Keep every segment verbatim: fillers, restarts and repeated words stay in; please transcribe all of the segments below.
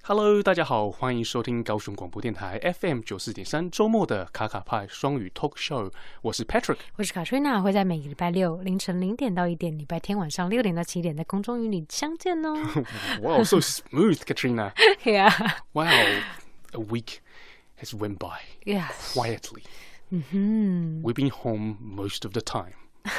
Hello， 大家好，歡迎收聽高雄廣播電臺 F M 九四點三週末的卡卡派雙語 Talk Show。我是 Patrick， 我是 Katrina， 會在每個禮拜六凌晨零點到一點，禮拜天晚上六點到七點，在空中與你相見哦。 Wow, so smooth, Katrina. Yeah. Wow, a week has went by. Yes. Quietly. Mm-hmm. We've been home most of the time.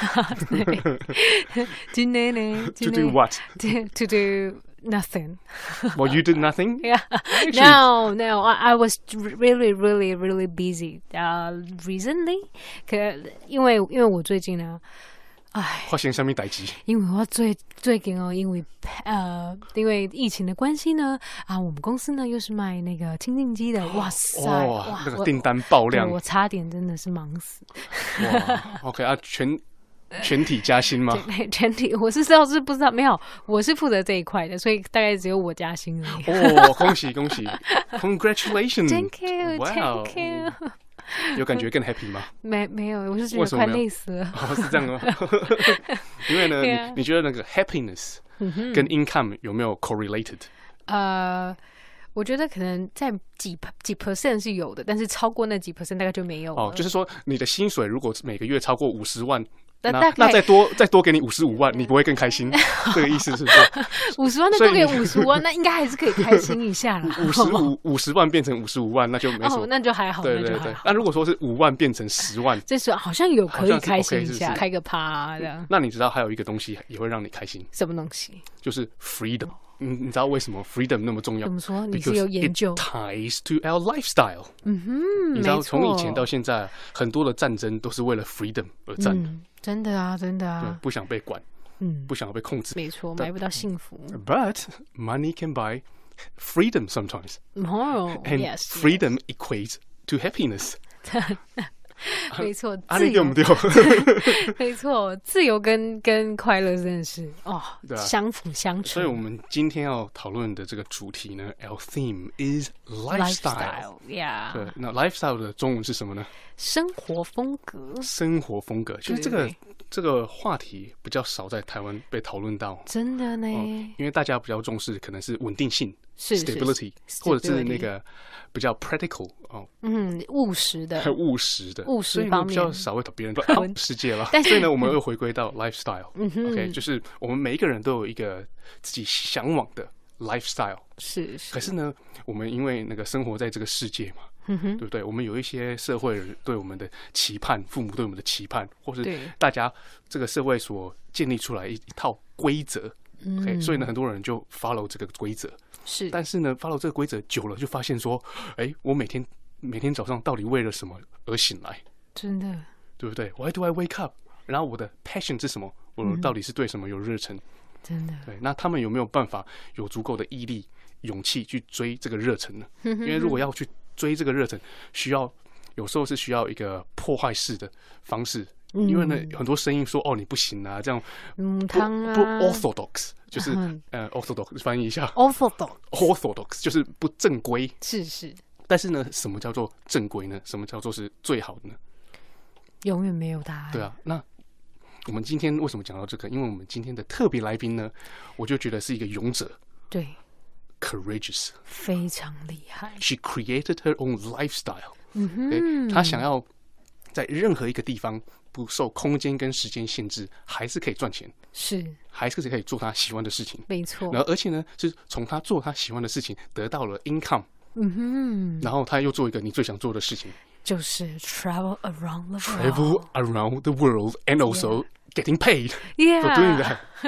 今天呢 To do what? To, to do nothing. Well, you did nothing? Yeah. Actually, No, no. I, I was really, really, really busy. Uh, recently, 可因為因為我最近呢，哎， 發生什麼代誌？ 因為我最最近哦，因為呃，因為疫情的關係呢，啊，我們公司呢又是賣那個清淨機的，哇塞， 哦、 哇， 那個訂單爆量， 我, 我差點真的是忙死。 哇 ，OK 啊，全。全體加薪嗎？ 全體，我是知道是不知道，沒有，我是負責這一塊的，所以大概只有我加薪而已。 哦，恭喜恭喜 ，Congratulations！ Thank you, Wow. Thank you。 有感覺更 happy 嗎？ 沒沒有，我是覺得快累死了。 哦，是這樣嗎？因為呢， yeah. 你, 你覺得那個 happiness 跟 income 有沒有 correlated？ 呃。我覺得可能在幾幾 percent 是有的，但是超過那幾 percent 大概就沒有了。哦， 就是說你的薪水如果每個月超過五十萬，那那, 那再多再多給你五十五萬，你不會更開心？這個意思是不是？ 五十萬再多給五十萬，那應該還是可以開心一下啦。 五十五五十萬變成五十五萬，那就沒什麼， 哦，那就還好。 對對對。那如果說是五萬變成十萬， 這是好像有可以開心一下，開個趴啊這樣。 那你知道還有一個東西也會讓你開心？ 什麼東西？ 就是 freedom。你你知道為什麼 freedom 那麼重要？ 怎麼說？你是有研究 ？It ties to our lifestyle。 嗯哼， 你知道從以前到現在，很多的戰爭都是為了 freedom 而戰的。 嗯，真的啊，真的啊。 不想被管，嗯，不想被控制。 沒錯，買不到幸福。 But money can buy freedom sometimes. Oh, and yes. freedom equates to happiness. 沒錯， 啊，你對不對？ 沒錯，自由跟跟快樂真的是哦， 對啊， 相輔相成。 所以我們今天要討論的這個主題呢 ，Our theme is lifestyle. Yeah. 對，那 lifestyle 的中文是什麼呢？ 生活風格。生活風格，其實這個這個話題比較少在台灣被討論到。 真的呢， 哦，因為大家比較重視可能是穩定性。 是 stability， 或者是那個比較 practical 哦， 嗯，務實的， 務實的，務實方面比較少會討別人討世界了。所以呢，我們又回歸到 lifestyle， 嗯哼 OK， 就是我們每一個人都有一個自己向往的 lifestyle， 是是。 可是呢，我們因為那個生活在這個世界嘛，嗯哼，對不對？我們有一些社會人對我們的期盼，父母對我們的期盼，或是大家這個社會所建立出來一一套規則 ，OK，所以呢，很多人就 follow 這個規則。 是， 但是呢 ，follow 這個規則久了，就發現說，哎，我每天每天早上到底為了什麼而醒來？ 真的， 對不對 ？Why do I wake up？ 然後我的 passion 是什麼？我到底是對什麼有熱忱？ 真的， 對。那他們有沒有辦法有足夠的毅力、勇氣去追這個熱忱呢？因為如果要去追這個熱忱，需要有時候是需要一個破壞式的方式。因為呢，很多聲音說哦，你不行啊，這樣嗯， 不不 orthodox， 就是呃 orthodox 翻譯一下 orthodox orthodox 就是不正規， 是是。 但是呢，什麼叫做正規呢？什麼叫做是最好的呢？ 永遠沒有答案。 對啊，那我們今天為什麼講到這個？因為我們今天的特別來賓呢，我就覺得是一個勇者， 對 ，courageous， 非常厲害。 She created her own lifestyle。 嗯哼， 她想要在任何一個地方。不受空間跟時間限制，還是可以賺錢， 是， 還是可以做他喜歡的事情， 沒錯。 然後而且呢，是從他做他喜歡的事情得到了 income， 嗯哼， 然後他又做一個你最想做的事情， 就是 travel around the world，travel around the world and also getting paid yeah. for doing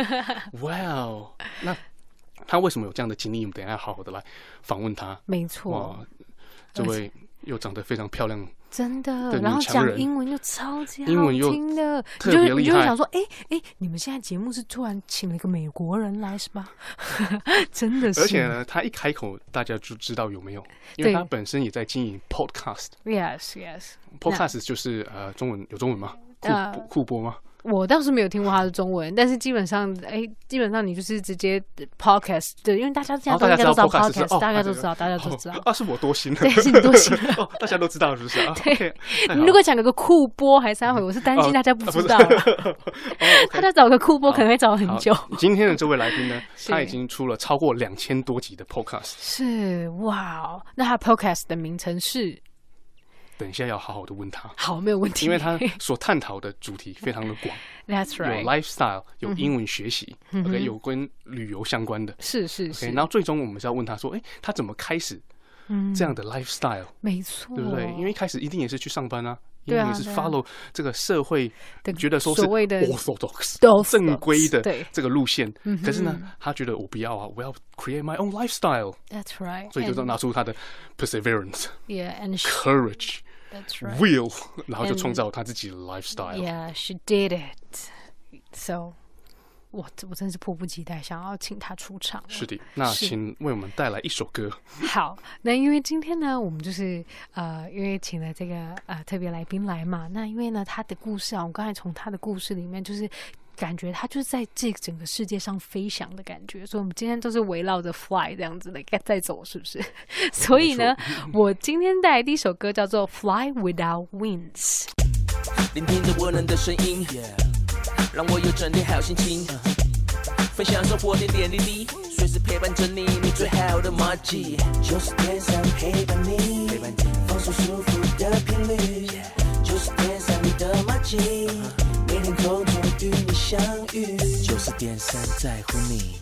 that。Wow， 那他為什麼有這樣的經歷？我們等一下好好的來訪問他。 沒錯， 哇，這位又長得非常漂亮。 真的，然後講英文又超級好聽的， 特別厲害， 你就你就會想說，哎哎，你們現在節目是突然請了一個美國人來是吧？真的是， 而且呢，他一開口，大家就知道有沒有，因為他本身也在經營 podcast。 Yes, yes. Podcast 就是呃，中文有中文嗎？酷酷播嗎？ 我倒是沒有聽過他的中文，但是基本上，哎、欸，基本上你就是直接 podcast， 對，因為大家現在都應該都知道 podcast，、哦、大家都知道，大家都知道。 啊，是我多心了， 對，是你多心了。 哦，大家都知道是不是？對， okay, 你如果講個酷播還三回，我是擔心大家不知道。大家找個酷播可能會找很久。 今天的這位來賓呢，他已經出了超過兩千多集的 podcast。是， 哇，那他 podcast 的名稱是？ 等一下要好好的問他， 好，沒有問題， 因為他所探討的主題非常的廣。 That's right， 有 lifestyle， 有英文學習、嗯、，OK， 有跟旅遊相關的， 是是是。 Okay, 然後最終我們是要問他說，哎、欸，他怎麼開始這樣的 lifestyle？、嗯、 沒錯， 對不對？因為一開始一定也是去上班啊，一定也是 follow 這個社會覺得說是 orthodox 正規的這個路線。可是呢，他覺得我不要啊，我要 create my own lifestyle。That's right， 所以就拿出他的 perseverance，yeah and courage。That's right. Will， 然後就創造他自己的 lifestyle。Yeah, she did it. So， 我我真是迫不及待想要請他出場。 是的，那請為我們帶來一首歌。 好，那因為今天呢，我們就是呃，因為請了這個呃特別來賓來嘛，那因為呢他的故事啊，我剛才從他的故事裡面就是。感覺他就是在這整個世界上飛翔的感覺，所以我們今天都是圍繞着 fly 這樣子的在走，是不是？所以呢，我今天帶來第一首歌叫做 Fly Without Wings。聆聽着溫暖的聲音，讓我有整天好心情，分享生活點點滴滴，隨時陪伴着你，你最好的麻吉。就是天上陪伴你，放鬆舒服的頻率，就是天上你的麻吉。每天空中與你相遇，就是點三在乎你。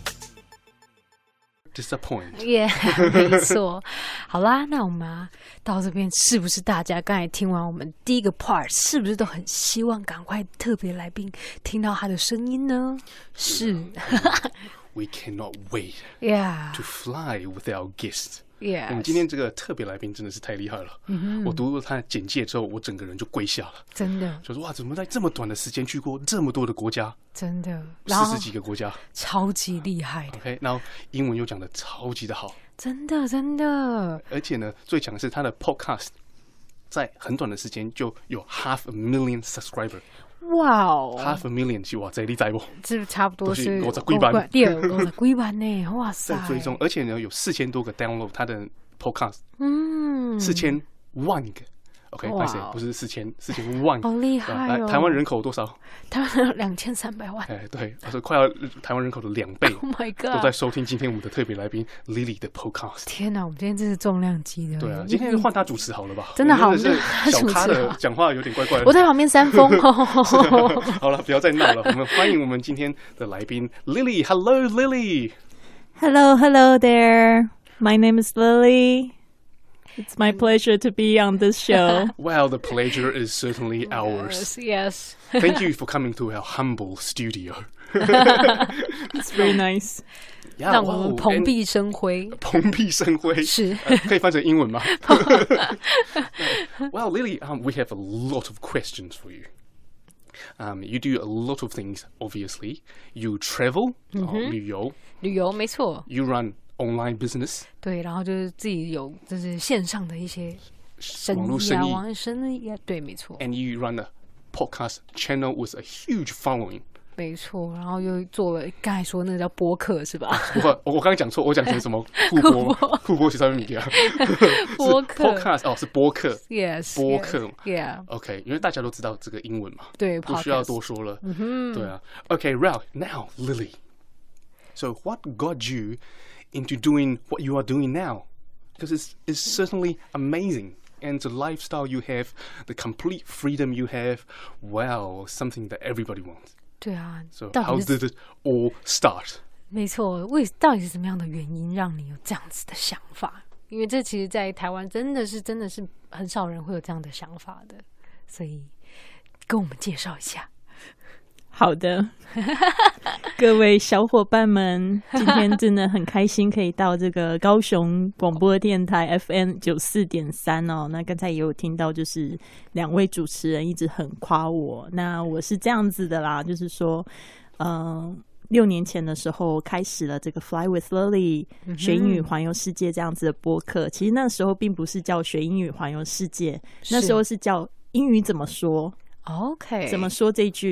Disappoint。Yeah， 沒錯。好啦，那我們、啊、到這邊，是不是大家剛才聽完我們第一個 part， 是不是都很希望趕快特別來賓聽到他的聲音呢？是。 We cannot wait. Yeah. To fly with our guest.Yeah， 我們今天這個特別來賓真的是太厲害了。嗯、我讀了他的簡介之後，我整個人就跪下了。真的，就是哇，怎麼在這麼短的時間去過這麼多的國家？真的，四十幾個國家，超級厲害的。OK， 然後英文又講得超級的好，真的真的。而且呢，最強的是他的 podcast 在很短的時間就有 half a million subscriber。哇哦 ，half a million 是哇，這你知不？這差不多是五十幾萬，對，五十幾萬呢，哇塞！在追蹤，而且呢有四千多個 download 他的 podcast， 嗯，四千萬個 ，OK， 不是不是四千四千萬，好厲害哦！台灣人口多少？台灣兩千三百萬，哎，對，我說快要台灣人口的兩倍 ，Oh my god， 都在收聽今天我們的特別來賓 Lily 的 podcast。天哪，我們今天真是重量級的。對啊，今天換他主持好了吧？真的好，是小咖的講話有點怪怪的。我在旁邊扇風。好了，不要再鬧了。我們歡迎我們今天的來賓 Lily。Hello Lily。Hello Hello there. My name is Lily.It's my pleasure to be on this show. Well, the pleasure is certainly ours. Yes, yes. Thank you for coming to our humble studio. It's very nice. 讓我們蓬蓽生輝。蓬蓽生輝是、呃、可以翻成英文嗎？Well, Lily, um, we have a lot of questions for you. Um, you do a lot of things, obviously. You travel, 嗯哼、旅遊，旅遊沒錯。You run.Online business 對，然後就是自己有就是線上的一些生意啊，網絡生意啊，對，沒錯。And you run a podcast channel with a huge following。沒錯，然後又做了剛才說那個叫播客是吧？我我剛剛講錯，我講成什麼？酷播，酷播是上面啊。播客 podcast 哦，是播客 ，yes， 播客 ，yeah，OK， 因為大家都知道這個英文嘛，對，不需要多說了。嗯哼，對啊。OK，Ralph， now Lily，so what got you?Into doing what you are doing now, because it's it's certainly amazing, and the lifestyle you have, the complete freedom you have, wow, something that everybody wants. 对啊 So how did it all start? 没錯，為到底是什麼樣的原因讓你有這樣子的想法？因為這其實，在台灣真的是真的是很少人會有這樣的想法的，所以跟我們介紹一下。好的，各位小夥伴們，今天真的很開心可以到這個高雄廣播電台 F M 九四點三哦。那剛才也有聽到，就是兩位主持人一直很誇我。那我是這樣子的啦，就是說，嗯、呃，六年前的時候開始了這個 Fly with Lily 學英語環遊世界這樣子的播客。其實那時候並不是叫學英語環遊世界，那時候是叫英語怎麼說 ？OK， 怎麼說這句？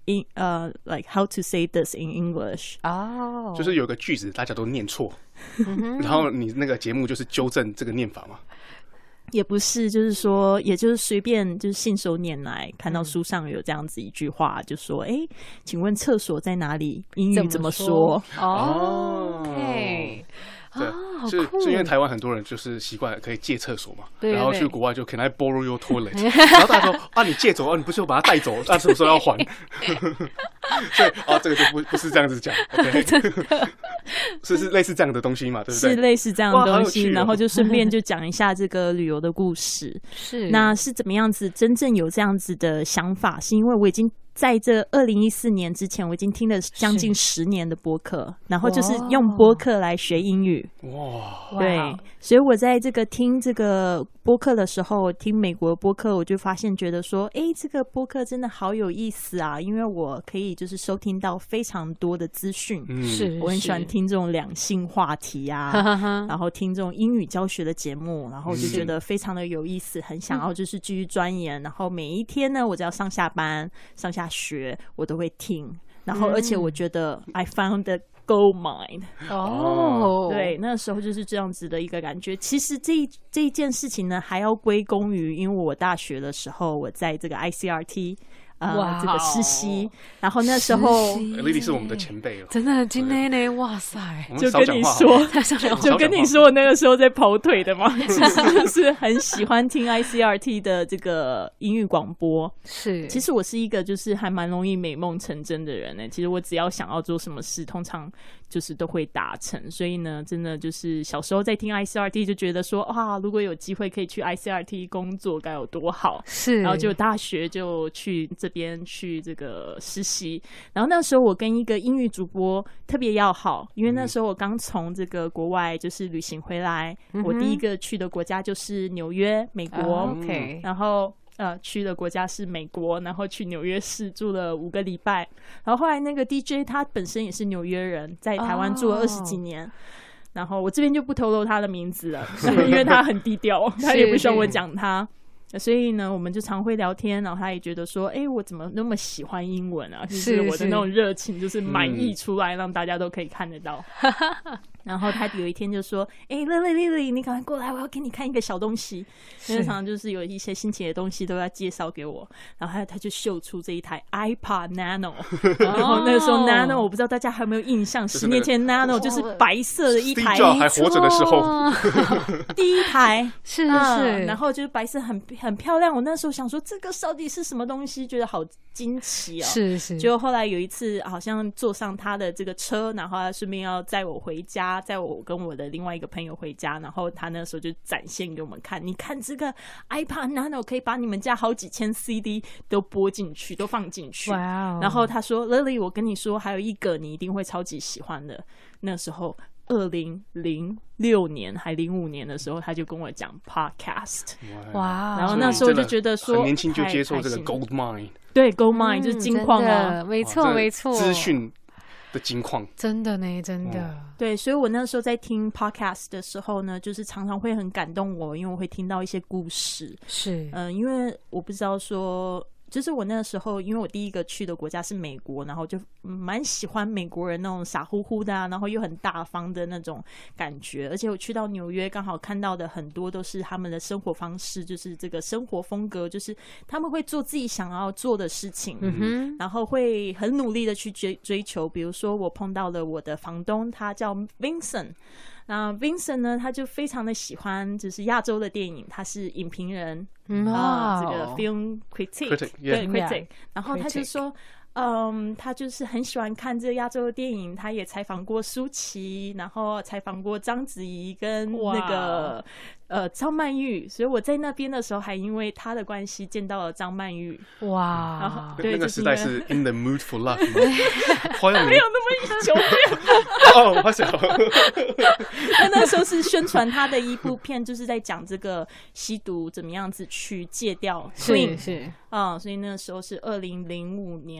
in 呃、uh, like how to say this in English 哦，oh. 就是有個句子大家都念錯，然後你那個節目就是糾正這個念法嘛。 也不是，就是說，也就是隨便就是信手拈來，看到書上有這樣子一句話，就說：“哎、欸，請問廁所在哪裡？英語怎麼說？” 哦 ，OK。 對， 哦、 是酷是因為台灣很多人就是習慣可以借廁所嘛， 對對對， 然後去國外就 Can I borrow your toilet？ 然後大家說啊，你借走啊，你不是有把它帶走，那什麼時候要還？所以啊，這個就不不是這樣子講 ，OK？ 是是類似這樣的東西嘛，對不對？ 是類似這樣的東西， 哦、 然後就順便就講一下這個旅遊的故事。 是， 那是怎麼樣子？真正有這樣子的想法，是因為我已經。在這二零一四年之前，我已經聽了將近十年的播客，然後就是用播客來學英語。 哇， 對，所以我在這個聽這個播客的時候，聽美國的播客，我就發現覺得說，哎，這個播客真的好有意思啊！因為我可以就是收聽到非常多的資訊， 是、嗯、 我很喜歡聽這種兩性話題啊，然後聽這種英語教學的節目，然後就覺得非常的有意思，很想要就是繼續鑽研。然後每一天呢，我只要上下班、上下學我都會聽，然後而且我覺得 I found the gold mine 哦， 對，那時候就是這樣子的一個感覺。其實這一這一件事情呢，還要歸功於，因為我大學的時候我在這個 I C R T。呃，這個實習，然後那時候 ，Lily 是我們的前輩了， 真的，今天呢，哇塞， 就跟你說，就跟你說，我那個時候在跑腿的嘛，其實就是很喜歡聽 I C R T 的這個英語廣播。 是， 其實我是一個就是還蠻容易美夢成真的人呢。其實我只要想要做什麼事，通常就是都會達成。所以呢，真的就是小時候在聽 I C R T 就覺得說，啊，如果有機會可以去 I C R T 工作，該有多好。 是， 然後就大學就去這邊去這個實習，然後那時候我跟一個英語主播特別要好，因為那時候我剛從這個國外就是旅行回來，嗯、我第一個去的國家就是紐約，美國。 Oh, OK， 然後呃去的國家是美國，然後去紐約市住了五個禮拜，然後後來那個 D J 他本身也是紐約人，在台灣住了二十幾年。Oh. 然後我這邊就不透露他的名字了，因為他很低調，他也不希望我講他。所以呢，我們就常會聊天，然後他也覺得說，哎、欸，我怎麼那麼喜歡英文啊？就是我的那種熱情，就是滿溢出來，讓大家都可以看得到。然後他有一天就說：“哎、欸，Lily，Lily，你趕快過來，我要給你看一個小東西。”經常就是有一些新奇的東西都要介紹給我。然後他他就秀出這一台 iPod Nano， 然後那個時候 Nano 我不知道大家還有沒有印象，十、就是、年前 Nano 就是白色的一台， Steve Jobs 還活着的時候， 第一台是是、 嗯，然後就是白色很很漂亮。我那時候想說，這個到底是什麼東西？覺得好驚奇哦。 是是。 結果後來有一次，好像坐上他的這個車，然後他順便要載我回家。在我跟我的另外一個朋友回家，然後他那時候就展現給我們看，你看這個 iPod Nano 可以把你們家好幾千 C D 都播進去，都放進去。 Wow. 然後他說 Lily， 我跟你說，還有一個你一定會超級喜歡的。那時候二零零六年還零五年的時候，他就跟我講 Podcast。 哇、wow. 然後那時候就覺得說， 很年輕就接受這個 Gold Mine。 對 ，Gold Mine、嗯、就是金礦啊， 沒錯沒錯， 資訊的金礦， 真的呢，真的、嗯。 對，所以我那時候在聽 podcast 的時候呢，就是常常會很感動我，因為我會聽到一些故事。 是， 嗯、呃，因為我不知道說。就是我那個時候，因為我第一個去的國家是美國，然後就蠻喜歡美國人那種傻乎乎的啊，然後又很大方的那種感覺。而且我去到紐約，剛好看到的很多都是他們的生活方式，就是這個生活風格，就是他們會做自己想要做的事情，嗯哼，然後會很努力的去追追求。比如說，我碰到了我的房東，他叫 Vincent。那 Vincent 呢，他就非常的喜歡就是亞洲的電影，他是影評人，嗯、wow. 呃，這個 film critic，, critic yeah. 對 critic，、yeah. 然後他就說，嗯，他就是很喜歡看這個亞洲的電影，他也採訪過舒淇，然後採訪過章子怡跟那個、wow. 呃張曼玉，所以我在那邊的時候還因為他的關係見到了張曼玉，哇、wow. 然後對， 那個時代是 In the Mood for Love， 沒有那麼久遠哦，我想那那時候是宣傳他的一部片，就是在講這個吸毒怎麼樣子去戒掉， 是是， 嗯，所以那時候是二零零五年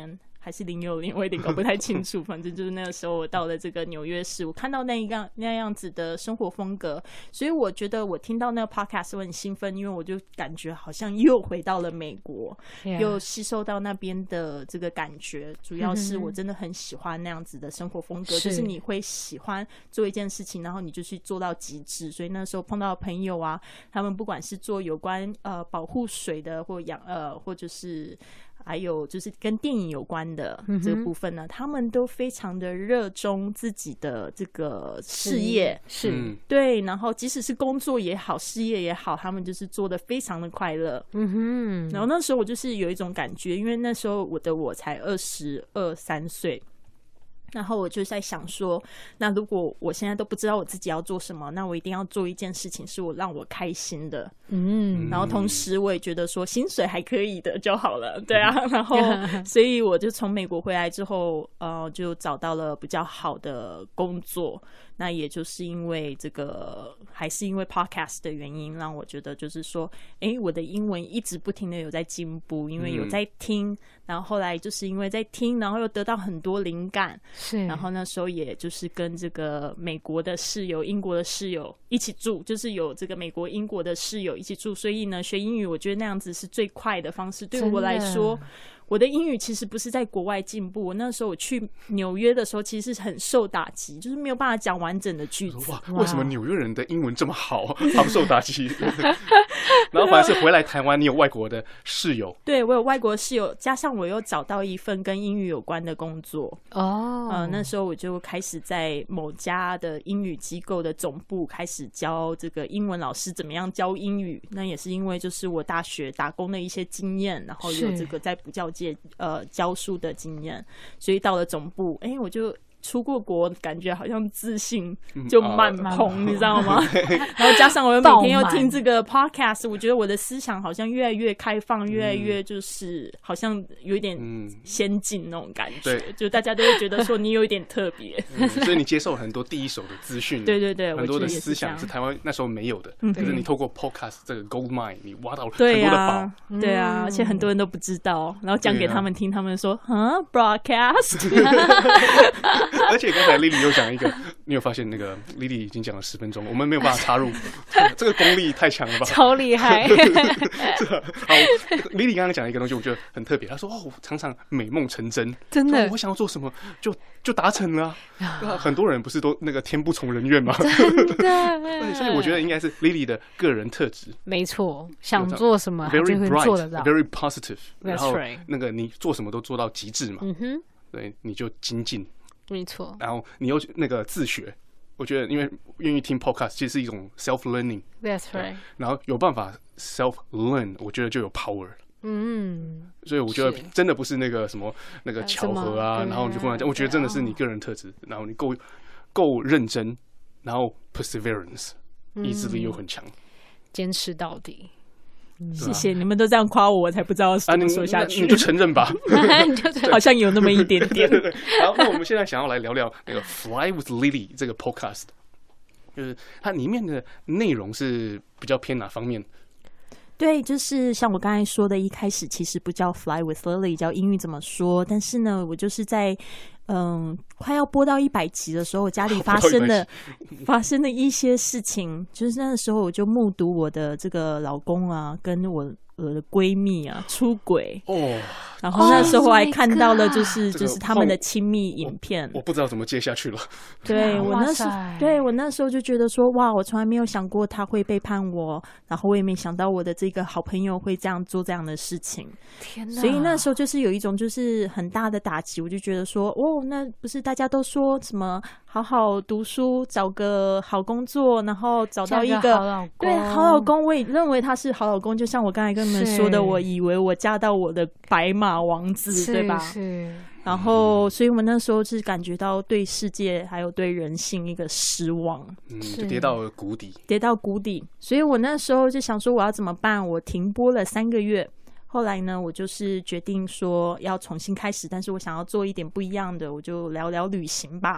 還是零六年，我有點搞不太清楚。反正就是那個時候，我到了這個紐約市，我看到那一樣那樣子的生活風格，所以我覺得我聽到那個 podcast 我很興奮，因為我就感覺好像又回到了美國， yeah. 又吸收到那邊的這個感覺。主要是我真的很喜歡那樣子的生活風格，就是你會喜歡做一件事情，然後你就去做到極致。所以那時候碰到的朋友啊，他們不管是做有關呃保護水的，或養呃或者是還有就是跟電影有關的這個部分呢，嗯、他們都非常的熱衷自己的這個事業，是、嗯、對，然後即使是工作也好，事業也好，他們就是做得非常的快樂。嗯哼，然後那時候我就是有一種感覺，因為那時候我的我才二十二三歲。然後我就在想說，那如果我現在都不知道我自己要做什麼，那我一定要做一件事情是我讓我開心的，嗯，然後同時我也覺得說薪水還可以的就好了，對啊，然後所以我就從美國回來之後，呃，就找到了比較好的工作。那也就是因為這個，還是因為 podcast 的原因，讓我覺得就是說，哎，我的英文一直不停的有在進步，因為有在聽，嗯、然後後來就是因為在聽，然後又得到很多靈感，是，然後那時候也就是跟這個美國的室友、英國的室友一起住，就是有這個美國、英國的室友一起住，所以呢，學英語我覺得那樣子是最快的方式，對我來說。我的英語其實不是在國外進步，我那時候我去紐約的時候，其實是很受打擊，就是沒有辦法講完整的句子。哇， 為什麼紐約人的英文這麼好，好受打擊？然後反而是回來台灣，你有外國的室友。 對，我有外國室友，加上我又找到一份跟英語有關的工作。哦，呃，那時候我就開始在某家的英語機構的總部開始教這個英文老師怎麼樣教英語。那也是因為就是我大學打工的一些經驗，然後有這個在補教界呃教書的經驗，所以到了總部，哎，我就出過國，感覺好像自信就滿棚，嗯啊、你知道嗎？然後加上我又每天又聽這個 podcast， 我覺得我的思想好像越來越開放，越來越就是好像有一點先進那種感覺，嗯、就大家都會覺得說你有一點特別、 嗯，所以你接受很多第一手的資訊， 對對對， 很多的思想是台灣那時候沒有的，可是你透過 podcast 這個 gold mine， 你挖到很多的寶， 對啊，對啊，而且很多人都不知道，然後講給他們聽，他們說啊 broadcast。 而且剛才 Lily 又講一個，你有發現那個 Lily 已經講了十分鐘，我們沒有辦法插入，這個功力太強了吧？ 超厲害！ 好，Lily 剛剛講一個東西，我覺得很特別。她說：“哦，常常美夢成真， 真的， 我想要做什麼就就達成了、啊。”很多人不是都那個天不從人願嗎？ 真的， 所以我覺得應該是 Lily 的個人特質。 沒錯，想做什麼就會做得到 ，very positive。然後 right. 那個你做什麼都做到極致嘛。嗯哼，對，你就精進。 沒錯， 然後你又那個自學，我覺得因為願意聽 podcast 其實是一種 self learning。That's right。然後有辦法 self learn， 我覺得就有 power。嗯，所以我覺得真的不是那個什麼那個巧合啊，然後你就忽然講，我覺得真的是你個人特質，然後你夠夠認真，然後 perseverance， 意志力又很強， 堅持到底。 嗯、謝謝你們都這樣誇我，我才不知道怎麼說下去。 啊、你, 你就承認吧， 好像有那麼一點點。 對對對對，好，那我們現在想要來聊聊那個 Fly with Lily 這個 podcast， 就是它裡面的內容是比較偏哪方面？ 對，就是像我剛才說的，一開始其實不叫 Fly with Lily， 叫英語怎麼說。但是呢，我就是在嗯快要播到一百集的時候，我家裡發生的發生的一些事情，就是那個時候我就目睹我的這個老公啊，跟我我的閨蜜啊出軌哦。然後那時候我還看到了，就是、oh、就是他們的親密影片， 我，我不知道怎麼接下去了。 對我那時候，對我那時候就覺得說，哇，我從來沒有想過他會背叛我，然後我也沒想到我的這個好朋友會這樣做這樣的事情。天哪！所以那時候就是有一種就是很大的打擊，我就覺得說，哦，那不是大家都說什麼好好讀書，找個好工作，然後找到一個，個好老公，對，好老公，我也認為他是好老公。就像我剛才跟你們說的，我以為我嫁到我的白馬王子，對吧？是。然後，所以我們那時候是感覺到對世界還有對人性一個失望， 嗯，就跌到了谷底， 跌到谷底。所以我那時候就想說，我要怎麼辦？我停播了三個月。後來呢，我就是決定說要重新開始，但是我想要做一點不一樣的，我就聊聊旅行吧。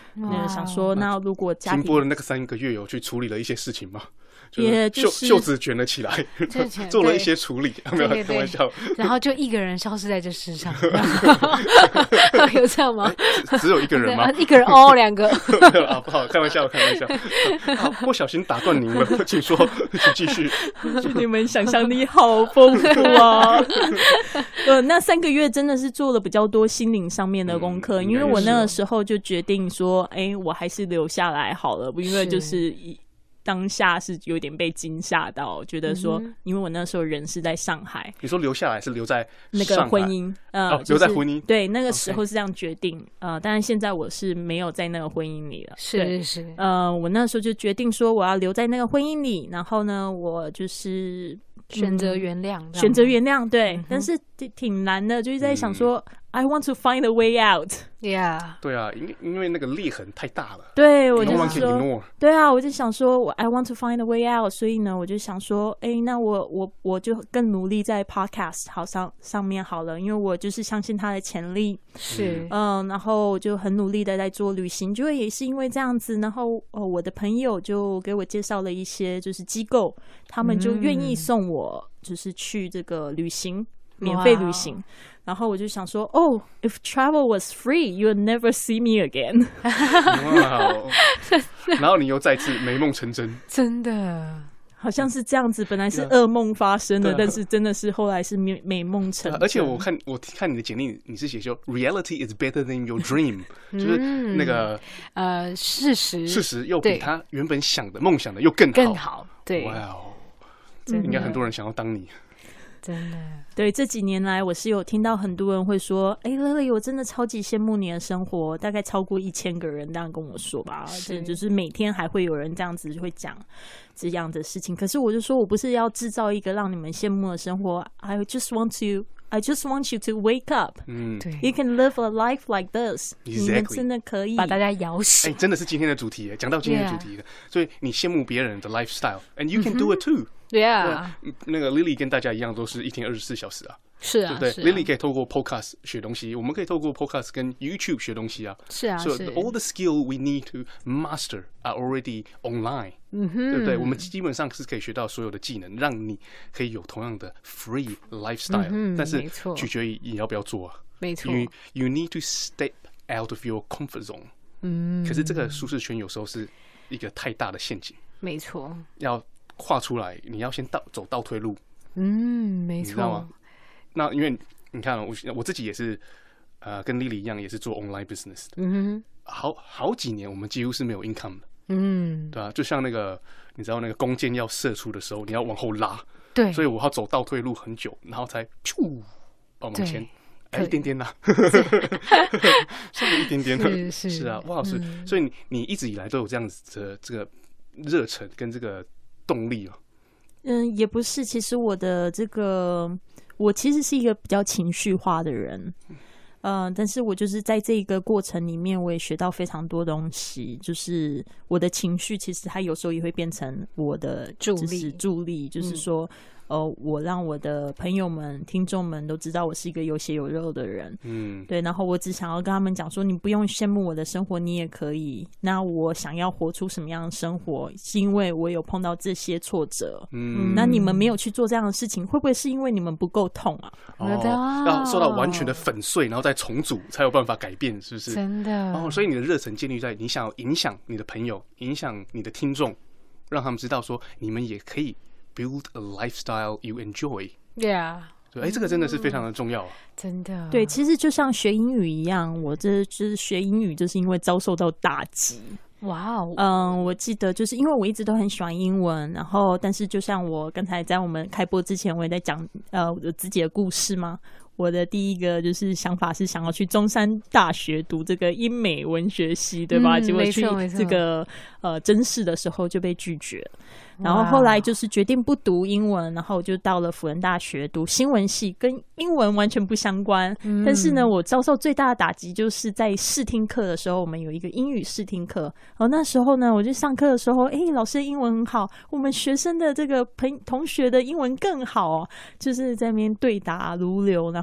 那想說，那如果家庭停播的那個三個月有去處理了一些事情嗎？ 也袖袖子捲了起來，做了一些處理，沒有開玩笑。 然後就一個人消失在這世上，有這樣嗎？ 只有一個人嗎？ 一個人哦，兩個啊，不好，開玩笑，開玩笑。好，不小心打斷您了，請說，請繼續。 你們想象力好豐富啊！呃，那三個月真的是做了比較多心靈上面的功課，因為我那個時候就決定說，哎，我還是留下來好了，因為就是當下是有點被驚嚇到，覺得說，因為我那時候人是在上海。 你說留下來是留在那個婚姻，呃， 哦，留在婚姻。 對，那個時候是這樣決定，呃，當然現在我是沒有在那個婚姻裡了。 是是， 呃，我那時候就決定說我要留在那個婚姻裡，然後呢，我就是選擇原諒， 選擇原諒，對，但是挺難的，就是在想說。I want to find a way out. Yeah. 對啊，因為因為那個裂痕太大了。 對，我就說， no one can ignore. 對啊，我就想說，我 I want to find a way out. 所以呢，我就想說，哎、欸，那我我我就更努力在 podcast 好上上面好了，因為我就是相信它的潛力。 是， 嗯，然後我就很努力的在做旅行，就也是因為這樣子，然後哦，我的朋友就給我介紹了一些就是機構，他們就願意送我就是去這個旅行。免費旅行， wow. 然後我就想說，哦、oh, ，If travel was free, you'll never see me again. 哇、wow. 然後你又再次美夢成真， 真的好像是這樣子。本來是噩夢發生的，但是真的是後來是美美夢成真。 而且我看我看你的簡歷，你是寫說 Reality is better than your dream，、嗯、就是那個呃事實， 事實又比他原本想的夢想的又更好， 更好。對， 哇哦，應該很多人想要當你。 真的，对， 這幾年來我是有聽到很多人會說，哎、欸、，Lily， 我真的超級羨慕你的生活，大概超過一千個人這樣跟我說吧，是就是每天還會有人這樣子會講這樣的事情。可是我就說我不是要制造一個讓你們羨慕的生活 ，I just want to, I just want you to wake up， 嗯，對 ，You can live a life like this， exactly. 你們真的可以把大家搖醒。 哎、欸，真的是今天的主題耶，講到今天的主題的， yeah. 所以你羨慕別人的 lifestyle，and you can do it too。 Yeah， 那個 Lily 跟大家一樣，都是一天二十四小時啊， 是啊， 對不對、 啊、 ？Lily 可以透過 Podcast 學東西，我們可以透過 Podcast 跟 YouTube 學東西啊。 是啊， 所以 so all the skill we need to master are already online，、嗯、對不對？我們基本上是可以學到所有的技能，讓你可以有同樣的 free lifestyle，、嗯、但是取決於你要不要做啊。 沒錯 you, you need to step out of your comfort zone。嗯，可是這個舒適圈有時候是一個太大的陷阱。 沒錯， 要跨出來，你要先倒走倒退路。 嗯，沒錯，你知道嗎？ 那因為你看，我我自己也是，呃，跟 Lily 一樣，也是做 online business 的。嗯哼，好好幾年，我們幾乎是沒有 income 的。嗯，對啊，就像那個，你知道那個弓箭要射出的時候，你要往後拉。對，所以我要走倒退路很久，然後才噗往前，哎，一點點啦，剩了一點點了。是是是啊，哇，是，嗯、所以你你一直以來都有這樣子的這個熱忱跟這個動力哦。 嗯，也不是，其實我的這個，我其實是一個比較情緒化的人，嗯、呃，但是我就是在這個過程裡面，我也學到非常多東西，就是我的情緒其實它有時候也會變成我的助力，助力，就是說。嗯呃，我讓我的朋友們、聽眾們都知道我是一個有血有肉的人，嗯，對。然後我只想要跟他們講說，你不用羨慕我的生活，你也可以。那我想要活出什麼樣的生活，是因為我有碰到這些挫折，嗯。那你們沒有去做這樣的事情，會不會是因為你們不夠痛啊？ 哦，要受到完全的粉碎，然後再重組，才有辦法改變，是不是？ 真的。 哦，所以你的熱忱建立在你想要影響你的朋友，影響你的聽眾，讓他們知道說，你們也可以。Build a lifestyle you enjoy. Yeah. 對，哎，這個真的是非常的重要啊！ 真的。對， 其實就像學英語一樣，我這就是學英語，就是因為遭受到打擊。哇哦，嗯，我記得就是因為我一直都很喜歡英文，然後但是就像我剛才在我們開播之前，我也在講呃我自己的故事嘛。我的第一個就是想法是想要去中山大學讀這個英美文學系，對吧？嗯、結果去這個呃甄試的時候就被拒絕了。然後後來就是決定不讀英文，然後我就到了輔仁大學讀新聞系，跟英文完全不相關。嗯、但是呢，我遭受最大的打擊就是在試聽課的時候，我們有一個英語試聽課。然後那時候呢，我就上課的時候，哎，老師的英文很好，我們學生的這個朋同學的英文更好哦，就是在那邊對答如流，然後。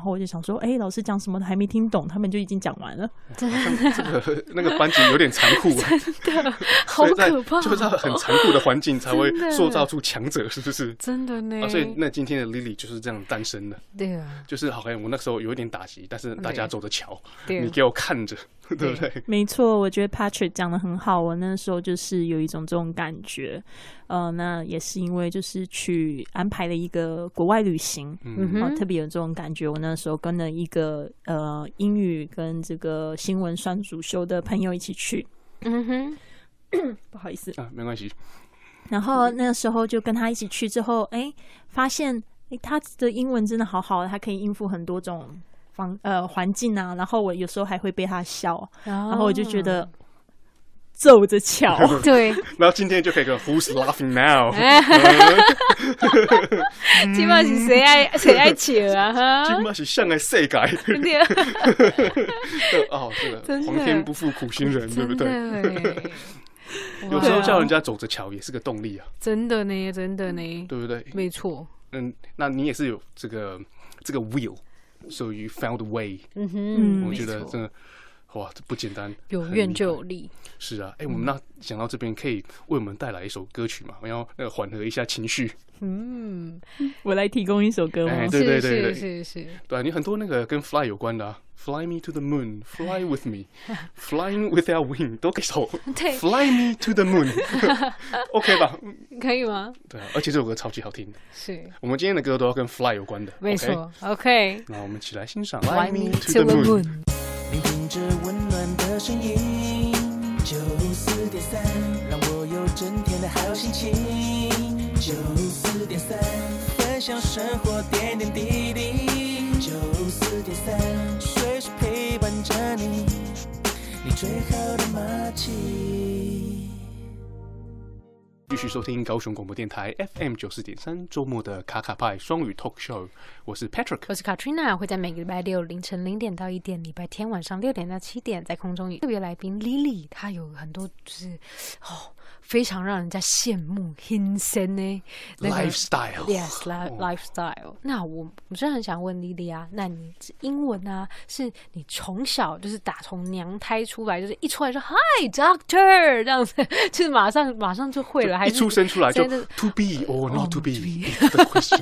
後我就想說，哎、欸，老師講什麼都還沒聽懂，他們就已經講完了。 這個那個班級有點殘酷， 真的好可怕， 就是在很殘酷的環境才會塑造出強者，是不是？ 真的呢。 啊，所以那今天的 Lily 就是這樣誕生的。 對啊， 就是好像我那時候有一點打擊，但是大家走着瞧，你給我看着，對不對？ 沒錯，我覺得 Patrick 講得很好，我那時候就是有一種這種感覺。呃，那也是因為就是去安排了一個國外旅行，嗯哼、呃，特別有這種感覺。我那時候跟了一個呃英語跟這個新聞雙主修的朋友一起去，嗯哼，不好意思啊，沒關係。 然後那時候就跟他一起去之後，哎，發現哎他的英文真的好好，他可以應付很多種方呃環境啊。然後我有時候還會被他笑，哦、然後我就覺得。皺着瞧， 對， 然後今天就可以個 Who's laughing now？ 今晚是誰愛誰愛笑啊？哈， 今晚是上個世界。哦，這個皇天不負苦心人，對不對？有時候叫人家走着瞧也是個動力啊！ 真的呢，真的呢， 對不對？ 沒錯。 嗯，那你也是有這個這個 will，so you found a way。嗯哼， 我覺得真的。哇，這不簡單！ 有願就有力。 是啊，哎、欸，我們那講到這邊，可以為我們帶來一首歌曲嘛？我要那個緩和一下情緒。 嗯，我來提供一首歌嗎？ 哎、欸，對對對對， 是是是。 對，你很多那個跟 fly 有關的、啊、，Fly me to the moon, fly with me, flying without wing 都可以首。對 ，Fly me to the moon，OK 吧？ 可以嗎？ 對啊，而且這首歌超級好聽的。 是。我們今天的歌都要跟 fly 有關的。 沒錯 ，OK。 那我們一起來欣賞 Fly me to the moon。 聆聽着溫暖的聲音，九四點三，讓我有整天的好心情。九四點三，分享生活點點滴滴。九四點三，隨時陪伴着你，你最好的默契。 繼續收聽高雄廣播電台 F M 九四點三週末的卡卡派雙語 Talk Show， 我是 Patrick， 我是 Katrina， 會在每個禮拜六凌晨零點到一點，禮拜天晚上六點到七點在空中與特別來賓 Lily， 她有很多就是哦。非常讓人家羨慕 hinsen 呢 lifestyle，yes lifestyle。那我我真的很想問莉莉啊，那你英文啊，是你從小就是打從娘胎出來，就是一出來就 Hi Doctor 這樣子，就是馬上馬上就會了，還是一出生出來就 To be or not to be the question？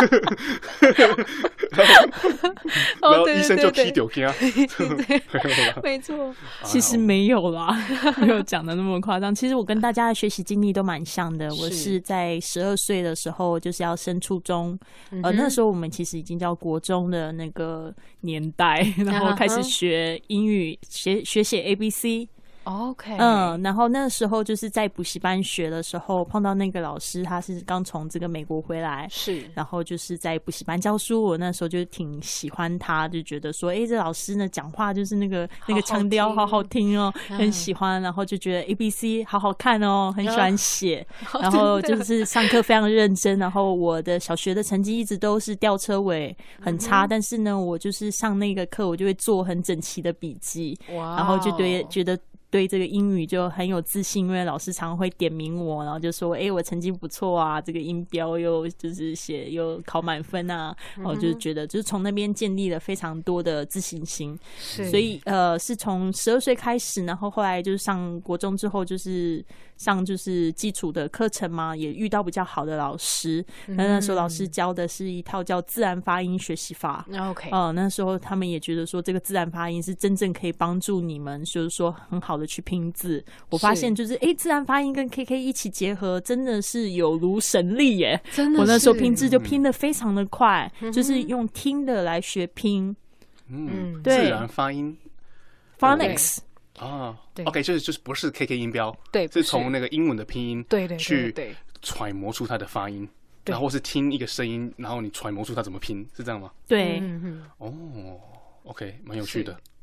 然後醫生就踢丟他， 沒錯， 其實沒有啦，沒有講的那麼誇張。其實我跟大家學習經歷都蠻像的，我是在十二歲的時候就是要升初中，呃，那時候我們其實已經叫國中的那個年代，然後開始學英語，學學寫 A B C。OK， 嗯，然後那時候就是在補習班學的時候，碰到那個老師，他是剛從這個美國回來，是，然後就是在補習班教書，我那時候就挺喜歡他，就覺得說，哎，這老師呢講話就是那個那個腔調好好聽哦，好好很喜歡，然後就覺得 A B C 好好看哦，很喜歡寫，嗯、然後就是上課非常認真，然後我的小學的成績一直都是吊車尾，很差，嗯、但是呢，我就是上那個課，我就會做很整齊的筆記，哇，然後就對覺得。對這個英語就很有自信，因為老師常常會點名我，然後就說：“哎，我成績不錯啊，這個音標又就是寫又考滿分啊。”然後就是覺得，就是從那邊建立了非常多的自信心。是，所以呃，是從十二歲開始，然後後來就是上國中之後，就是上就是基礎的課程嘛，也遇到比較好的老師。那、嗯、那時候老師教的是一套叫自然發音學習法。OK，、呃、那時候他們也覺得說，這個自然發音是真正可以幫助你們，就是說很好的去拼字。我發現就是哎，自然發音跟 K K 一起結合，真的是有如神力耶！真的，我那時候拼字就拼得非常的快，嗯、就是用聽的來學拼。 嗯，對，自然發音 phonics 啊，對 ，OK， 就是就是不是 K K 音標， 對， 是從那個英文的拼音， 對對， 去揣摩出它的發音，然後是聽一個聲音，然後你揣摩出它怎麼拼，是這樣嗎？ 對， 哦 ，OK， 蠻有趣的。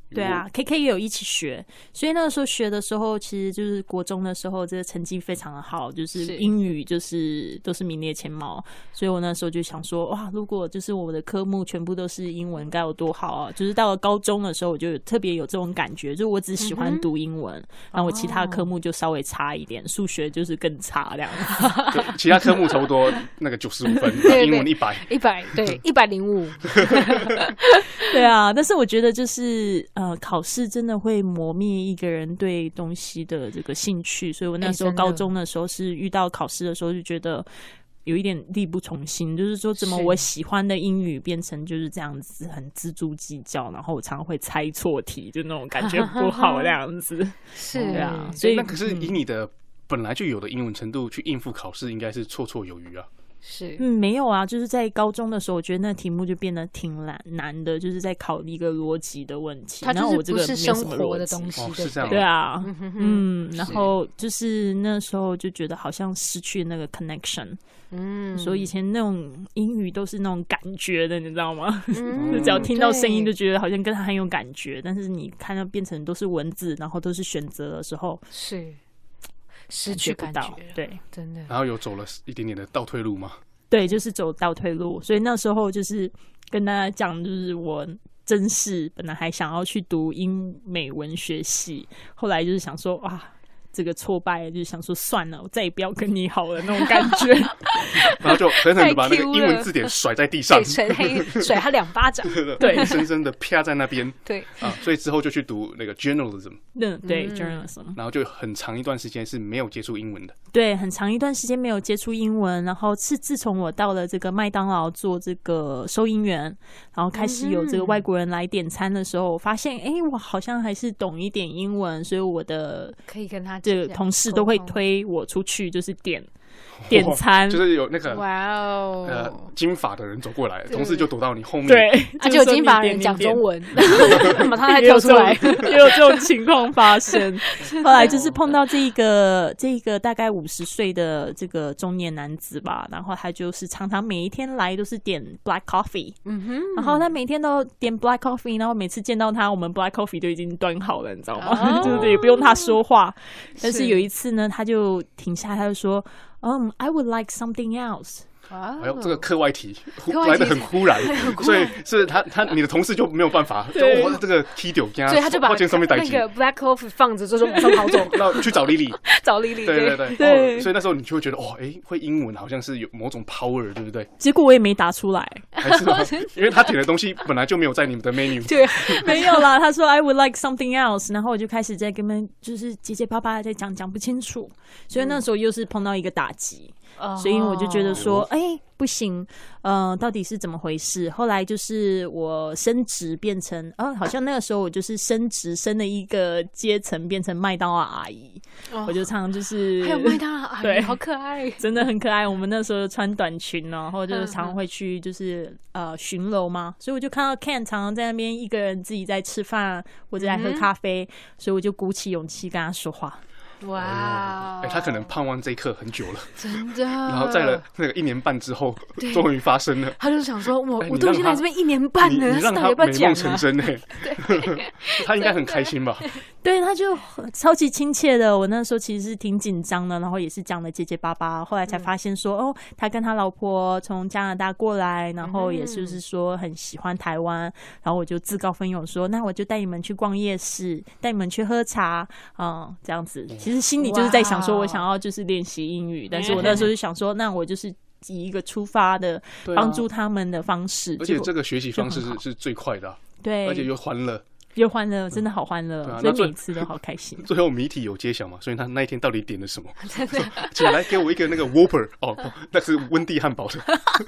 對啊 ，K K 也有一起學，所以那個時候學的時候，其實就是國中的時候，這個成績非常的好，就是英語就是都是名列前茅，所以我那時候就想說，哇，如果就是我的科目全部都是英文，該有多好啊！就是到了高中的時候，我就特別有這種感覺，就是我只喜歡讀英文，嗯、然後我其他科目就稍微差一點，數、哦、學就是更差這樣子， 其他科目差不多那個九十五分，英文一百， 一百對一百零五， 對啊，但是我覺得就是呃，考試真的會磨滅一個人對東西的這個興趣，所以我那時候高中的時候是遇到考試的時候就覺得有一點力不從心，就是說怎麼我喜歡的英語變成就是這樣子很錙銖計較，然後我常常會猜錯題，就那種感覺不好這樣子。是啊，所以那可是以你的本來就有的英文程度去應付考試，應該是綽綽有餘啊。 是，嗯，沒有啊，就是在高中的時候，我覺得那題目就變得挺難難的，就是在考一個邏輯的問題。 它就是不是生活的東西， 哦、是這樣。 對啊，嗯，然後就是那時候就覺得好像失去那個 connection。嗯，所以以前那種英語都是那種感覺的，你知道嗎？嗯、就只要聽到聲音就覺得好像跟他很有感覺，但是你看到變成都是文字，然後都是選擇的時候， 是。失去感覺， 對， 真的。 然後有走了一點點的倒退路嗎？ 對，就是走倒退路。所以那時候就是跟大家講，就是我真是本來還想要去讀英美文學系，後來就是想說啊，這個挫敗，就是想說算了，我再也不要跟你好了那種感覺。 然後就狠狠的把那個英文字典甩在地上， 甩甩他兩巴掌， 對，深深的啪在那邊。 對啊，所以之後就去讀那個 journalism， 對對 journalism， 然後就很長一段時間是沒有接觸英文的。 對，很長一段時間沒有接觸英文，然後是自從我到了這個麥當勞做這個收銀員，然後開始有這個外國人來點餐的時候，我發現哎，我好像還是懂一點英文，所以我的可以跟他這個同事都會推我出去，就是點。點餐就是有那個哇哦， 呃，金髮的人走過來，同事就躲到你後面， 對， 啊，就有金髮人講中文，馬上還跳出來， 也有這種情況發生。後來就是碰到這個這個大概五十歲的這個中年男子吧，然後他就是常常每一天來都是點 black coffee，嗯哼，然後他每天都點 black coffee，然後每次見到他，我們 black coffee 就已經端好了，你知道嗎？就是也不用他說話，但是有一次呢，他就停下，他就說。Um, I would like something else. 哎呦，這個課外題來得很忽然，所以是他他你的同事就沒有辦法，就我這個踢丟，所以他就把那個 black coffee 放着，就是馬上跑走， 然後去找 Lily， 找 Lily， 對對對對，所以那時候你就會覺得哦，哎，會英文好像是有某種 power， 對不對？ 結果我也沒答出來， 還是嗎？因為他點的東西本來就沒有在你們的 menu， 對，沒有啦。他說 I would like something else， 然後我就開始在跟他們就是結結巴巴在講，講不清楚，所以那時候又是碰到一個打擊。Oh. 所以我就覺得說，哎、欸，不行，呃，到底是怎麼回事？後來就是我升職變成，哦，好像那個時候我就是升職升了一個階層，變成麥當勞阿姨。Oh. 我就常常就是還有麥當勞阿姨，對，好可愛， 真的很可愛。我們那時候穿短裙，然後就是常常會去就是呃巡樓嘛，所以我就看到 Ken 常常在那邊一個人自己在吃飯或者在喝咖啡， mm-hmm. 所以我就鼓起勇氣跟他說話。 哇、wow 欸！他可能盼望這一刻很久了， 真的。 然後在了那個一年半之後，終於發生了。 他就想說：“我、欸、我都已經來這邊一年半了， 你，你讓他美夢成真呢、欸？ 對， 他應該很開心吧？ 對，他就超級親切的。我那時候其實是挺緊張的，然後也是講的結結巴巴。後來才發現說，嗯、哦，他跟他老婆從加拿大過來，然後也就是說很喜歡台灣。然後我就自告奮勇說：那我就帶你們去逛夜市，帶你們去喝茶，嗯，這樣子。其實心裡就是在想說，我想要就是練習英語，但是我那時候就想說，那我就是以一個出發的幫助他們的方式， 而且這個學習方式是是最快的、啊，對，而且又歡樂。 又歡樂，真的好歡樂、嗯啊，所以每次都好開心。 最後謎題有揭曉嘛？所以他那一天到底點了什麼？請來給我一個那個 Whopper 哦，那是溫蒂漢堡的。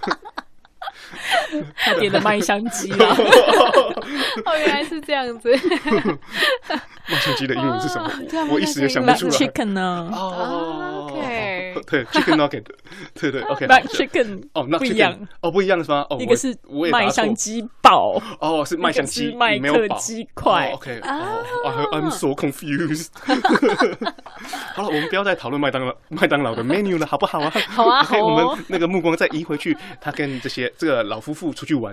他點的麥香雞啦。 哦，原來是這樣子。 麥香雞的英文是什麼？啊、我一時也想不出來。 Chicken 呢？ 哦 ，OK， 對 ，Chicken Nugget， 對對 ，OK。Chicken 哦，那不一樣哦，不一樣是嗎？哦， 一個是麥香雞堡， 哦，是麥香雞， 麥克雞塊。 OK，哦 ，I'm so confused。好了，我們不要再討論麥當勞麥當勞的 menu 了，好不好啊？ 好啊，好。 我們那個目光再移回去，他跟這些這個老夫婦出去玩。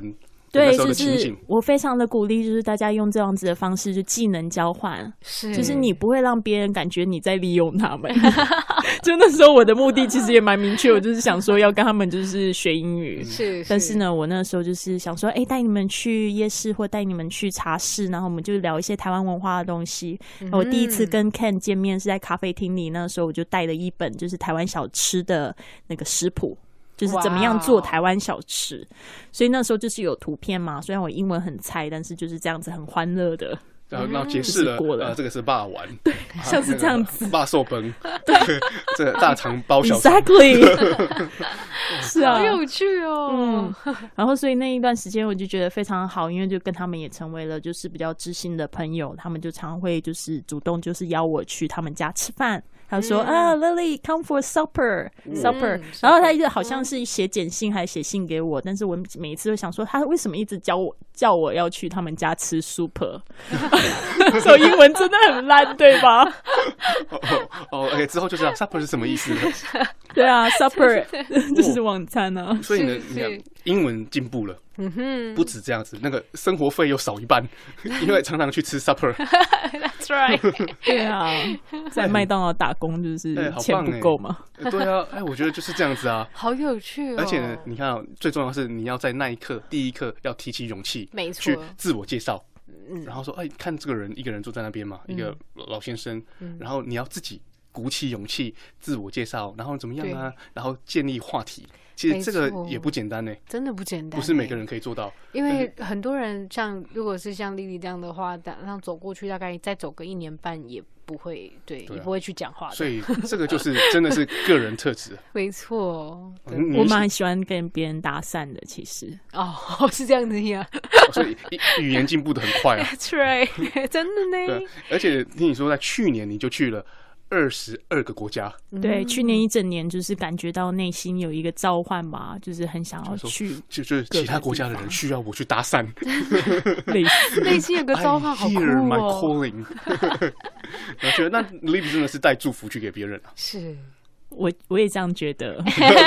對，就是我非常的鼓勵，就是大家用這樣子的方式，就技能交換，是，就是你不會讓別人感覺你在利用他們。就那時候我的目的其實也蠻明確，我就是想說要跟他們就是學英語，是。但是呢，我那時候就是想說，哎、欸，帶你們去夜市或帶你們去茶室，然後我們就聊一些台灣文化的東西。嗯、我第一次跟 Ken 見面是在咖啡廳裡，那時候我就帶了一本就是台灣小吃的那個食譜。就是怎麼樣做台灣小吃， wow. 所以那時候就是有圖片嘛。雖然我英文很菜，但是就是這樣子很歡樂的。 然後，然後解釋了，過了、呃，這個是霸丸， 對，像是這樣子。 霸壽崩，對，這個大腸包小腸。 Exactly， 是啊， 好有趣哦。 嗯，然後所以那一段時間我就覺得非常好，因為就跟他們也成為了就是比較知心的朋友。他們就常會就是主動就是邀我去他們家吃飯。他說、嗯、啊 ，Lily come for supper supper，、嗯、然後他就好像是寫簡信還是寫信給我，但是我每一次都想說他為什麼一直叫我叫我要去他們家吃 super， 所以英文真的很爛，對吧？ 哦哦，哎、哦，之後就知道 supper 是什麼意思了。 對啊 ，supper 就是晚餐啊。 所以呢，你看英文進步了。嗯哼，不止這樣子，那個生活費又少一半，因為常常去吃 supper。 That's right。 對啊，在麥當勞打工就是錢不夠嘛、 欸。對啊，哎，我覺得就是這樣子啊， 好有趣哦。 而且呢，你看、喔，最重要的是你要在那一刻，第一刻要提起勇氣，沒錯，去自我介紹，然後說，哎，看這個人一個人坐在那邊嘛，一個老先生，然後你要自己鼓起勇氣自我介紹，然後怎麼樣啊，然後建立話題。其實這個也不簡單呢、欸， 真的不簡單、欸， 不是每個人可以做到。 因為很多人像，如果是像莉莉這樣的話，然後走過去，大概再走個一年半也不會，對，對啊、也不會去講話的。 所以這個就是真的是個人特質。 沒錯， 嗯、我蠻喜歡跟別人搭訕的，其實。 哦，是這樣子呀、 哦。所以語言進步的很快啊。 That's right， 真的呢。 對，而且聽你說，在去年你就去了二十二個國家， 對，去年一整年就是感覺到內心有一個召喚吧，就是很想要去， 就就是其他國家的人需要我去搭訕， 內心有個召喚，好酷哦。I hear my calling。 我覺得那 Lily 真的是帶祝福去給別人啊。 是，我我也這樣覺得。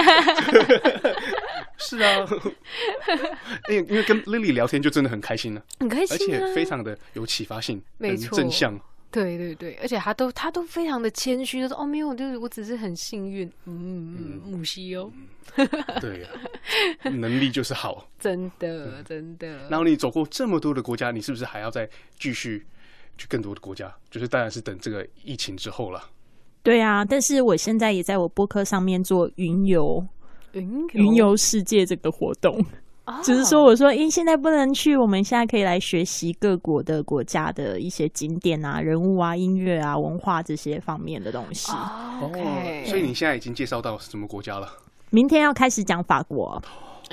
是啊，因為因為跟 Lily 聊天就真的很開心了， 很開心， 而且非常的有啟發性，很正向。 對對對，而且他都他都非常的謙虛，就說哦沒有，就是我只是很幸運，嗯嗯，母西哦， 對呀、啊，能力就是好， 真的真的。 然後你走過這麼多的國家，你是不是還要再繼續去更多的國家？就是當然是等這個疫情之後了。 對啊，但是我現在也在我播客上面做雲遊，雲雲遊世界這個活動。只、就是說，我說，咦，現在不能去，我們現在可以來學習各國的國家的一些景點啊、人物啊、音樂啊、文化這些方面的東西。 哦、okay. ，所以你現在已經介紹到什麼國家了？ 明天要開始講法國。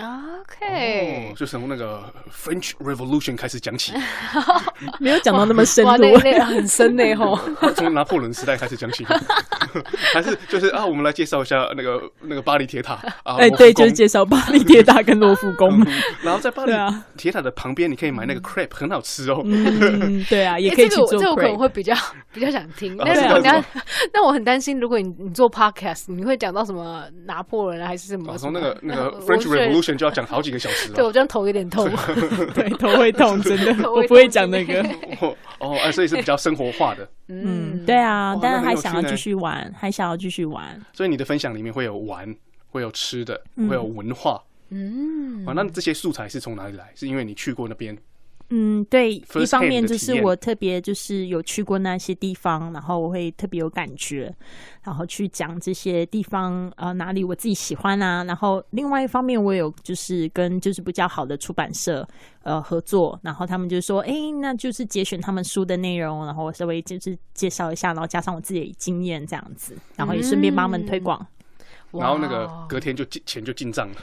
OK，、 哦、就從那個 French Revolution 開始講起， 沒有講到那麼深度， 那很深呢吼。 從拿破崙時代開始講起，還是就是啊，我們來介紹一下那個那個巴黎鐵塔啊。哎、欸， 對，就是介紹巴黎鐵塔跟羅浮宮、嗯。 然後在巴黎鐵塔的旁邊，你可以買那個 crepe，、嗯、很好吃哦。 嗯，對啊，也可以去做 crepe、欸。這個我可能會比較比較想聽，但是我要，但我很擔心，如果你你做 podcast，你會講到什麼拿破崙還是什麼？ 從那個那個 French Revolution 就要講好幾個小時了。 對，我這樣頭有點痛。 對，頭會痛，真的。我不會講那個。 哦，哦、啊，所以是比較生活化的。 嗯，對啊，但是還想要繼續玩，還想要繼續玩。 所以你的分享裡面會有玩，會有吃的，會有文化。嗯，啊，那這些素材是從哪裡來？是因為你去過那邊？ 嗯，對，一方面就是我特別就是有去過那些地方，然後我會特別有感覺，然後去講這些地方呃哪裡我自己喜歡啊。然後另外一方面，我有就是跟就是比較好的出版社呃合作，然後他們就說，哎，那就是節選他們書的內容，然後我稍微就是介紹一下，然後加上我自己的經驗這樣子，然後也順便幫他們推廣。嗯然後那個隔天就進錢就進賬了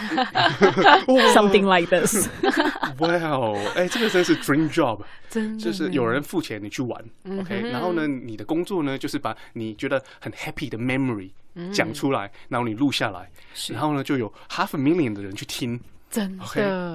，something like this。 哇哦，哎，這個真是 dream job， 真的就是有人付錢你去玩、嗯、，OK， 然後呢，你的工作呢就是把你覺得很 happy 的 memory 講出來，嗯、然後你錄下來，然後呢就有 half a million 的人去聽， 真的。 Okay?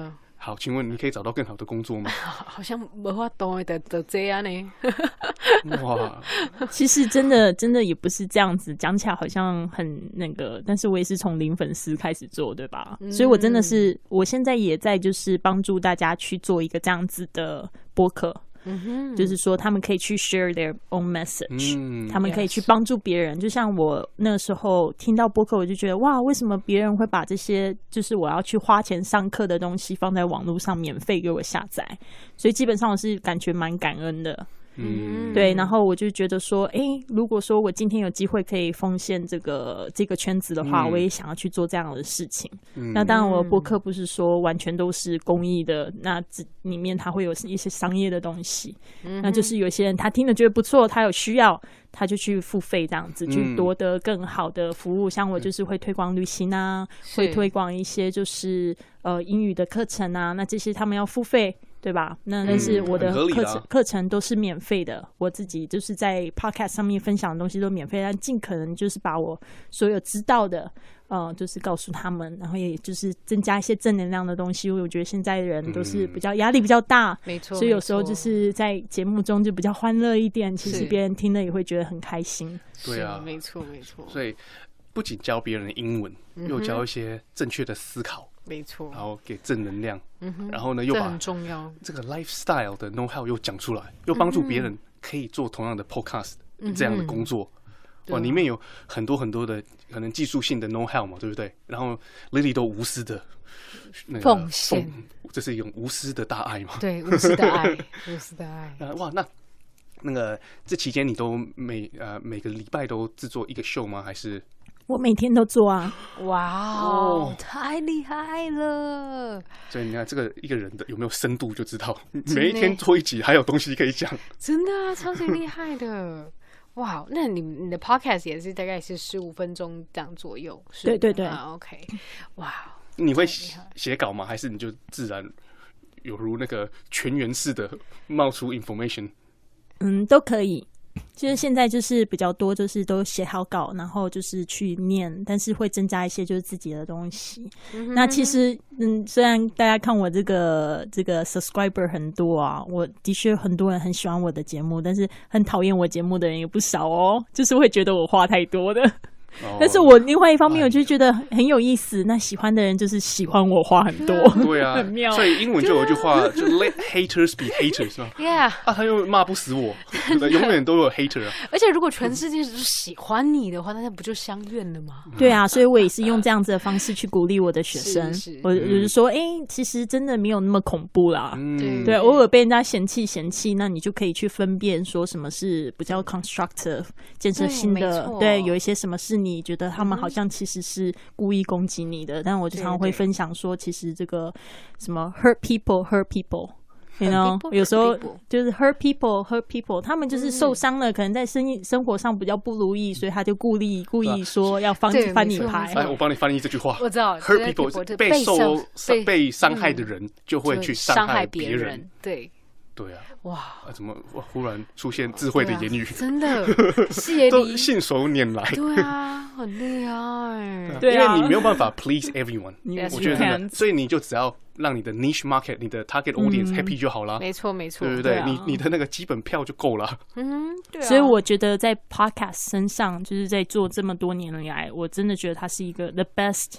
好，請問你可以找到更好的工作嗎？ 好像沒法度的的這樣呢。 哇，其實真的真的也不是這樣子，講起來好像很那個，但是我也是從零粉絲開始做，對吧？嗯、所以我真的是，我現在也在就是幫助大家去做一個這樣子的播客。嗯哼，就是說他們可以去 share their own message，、嗯、他們可以去幫助別人。Yes. 就像我那時候聽到播客，我就覺得哇，為什麼別人會把這些就是我要去花錢上課的東西放在網絡上免費給我下載？所以基本上我是感覺蠻感恩的。嗯，對，然後我就覺得說，哎，如果說我今天有機會可以奉獻這個這個圈子的話，嗯、我也想要去做這樣的事情。嗯、那當然，我的播客不是說完全都是公益的，那這裡面它會有一些商業的東西。嗯、那就是有些人他聽了覺得不錯，他有需要，他就去付費這樣子，去奪得更好的服務。嗯、像我就是會推廣旅行啊，會推廣一些就是呃英語的課程啊，那這些他們要付費。對吧？那但是我的課程課、嗯、程都是免費的，我自己就是在 podcast 上面分享的東西都免費，但盡可能就是把我所有知道的，呃，就是告訴他們，然後也就是增加一些正能量的東西。因為我覺得現在的人都是比較壓力比較大，沒錯、嗯，所以有時候就是在節目中就比較歡樂一點，其實別人聽了也會覺得很開心。 對啊， 沒錯沒錯。 所以不僅教別人的英文，嗯、又教一些正確的思考。 沒錯， 然後給正能量，嗯、然後呢又把這個 lifestyle 的 know how 又講出來，又幫助別人可以做同樣的 podcast、嗯、這樣的工作。哇，裡面有很多很多的可能技術性的 know how 嘛，對不對？然後 Lily 都無私的那個奉獻， 這是一種無私的大愛嘛？ 對，無私的愛，無私的愛。 呃、哇，那那個這期間你都每呃每個禮拜都制作一個秀嗎？還是？ 我每天都做啊！ 哇、wow, 哦，太厲害了！ 所以你看，這個一個人的有沒有深度，就知道每一天做一集，還有東西可以講。 真的啊，超級厲害的！哇，那你你的 podcast 也是大概是十五分鐘這樣左右？是對對對、 啊、，OK。哇， 你會寫稿嗎？還是你就自然有如那個泉源式的冒出 information？ 嗯，都可以。就是現在就是比較多，就是都寫好稿，然後就是去念，但是會增加一些就是自己的東西。嗯、那其實，嗯，雖然大家看我這個這個 subscriber 很多啊，我的確很多人很喜歡我的節目，但是很討厭我節目的人也不少哦，就是會覺得我話太多的。Oh, 但是我另外一方面，我就覺得很有意思。那喜歡的人就是喜歡我話很多， 對啊，很妙。所以英文就有一句話，啊、就 Let haters be haters 嘛。 Yeah， 啊，他又罵不死我，永遠都有 hater 啊。而且如果全世界都喜歡你的話，那不就相怨了嗎？ 對啊，所以我也是用這樣子的方式去鼓勵我的學生。是是，我就是說，哎、欸，其實真的沒有那麼恐怖啦。嗯、對，偶爾被人家嫌棄嫌棄，那你就可以去分辨說什麼是比較 constructive 建設性的。對，有一些什麼是你覺得他們好像其實是故意攻擊你的，嗯、但我經常會分享說，其實這個什麼 hurt people hurt people，you know， 有時候就是 hurt people hurt people， 他們就是受傷了，嗯、可能在生意生活上比較不如意，所以他就故意故意說要翻翻你牌。 來，我幫你翻譯這句話。 我知道 hurt people 被受被傷害的人就會去傷害別人，人。對。對啊，哇！啊、怎麼哇？忽然出現智慧的言語， 啊、真的，謝都信手拈來。 對啊，很厲害。 對啊，因為你沒有辦法 please everyone， 我覺得真的，所以你就只要讓你的 niche market、你的 target audience happy 就好了。沒錯，沒錯，對不對？你你的那個基本票就夠了。 嗯，對啊。所以我覺得在 podcast 身上，就是在做這麼多年來，我真的覺得它是一個 the best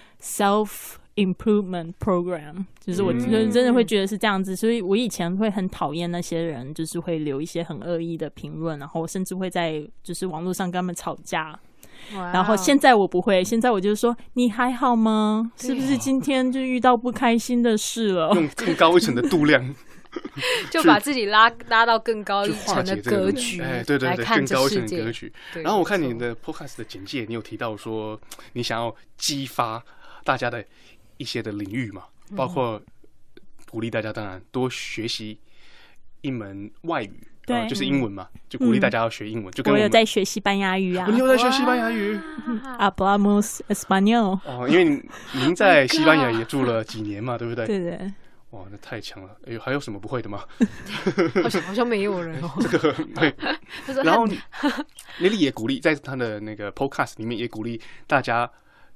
self improvement program， 就是我真的會覺得是這樣子，所以我以前會很討厭那些人，就是會留一些很惡意的評論，然後甚至會在就是網絡上跟他們吵架。Wow. 然後現在我不會，現在我就說你還好嗎？是不是今天就遇到不開心的事了？ 用更高一層的度量， 就把自己拉拉到更高一層的格局，哎， 對對對，更高一層的格局。然後我看你的 podcast 的簡介，你有提到說你想要激發大家的一些的領域嘛，包括鼓勵大家當然多學習一門外語，對、呃，就是英文嘛，就鼓勵大家要學英文。嗯、就跟我， 我有在學西班牙語啊， 你有在學西班牙語 ？Hablamos español。 哦，因為您在西班牙也住了幾年嘛，對不對？ 對對。 哇，那太強了！哎呦，還有什麼不會的嗎？ 好像好像沒有人哦。 這個對。然後 Lily 也鼓勵，在他的那個 podcast 裡面也鼓勵大家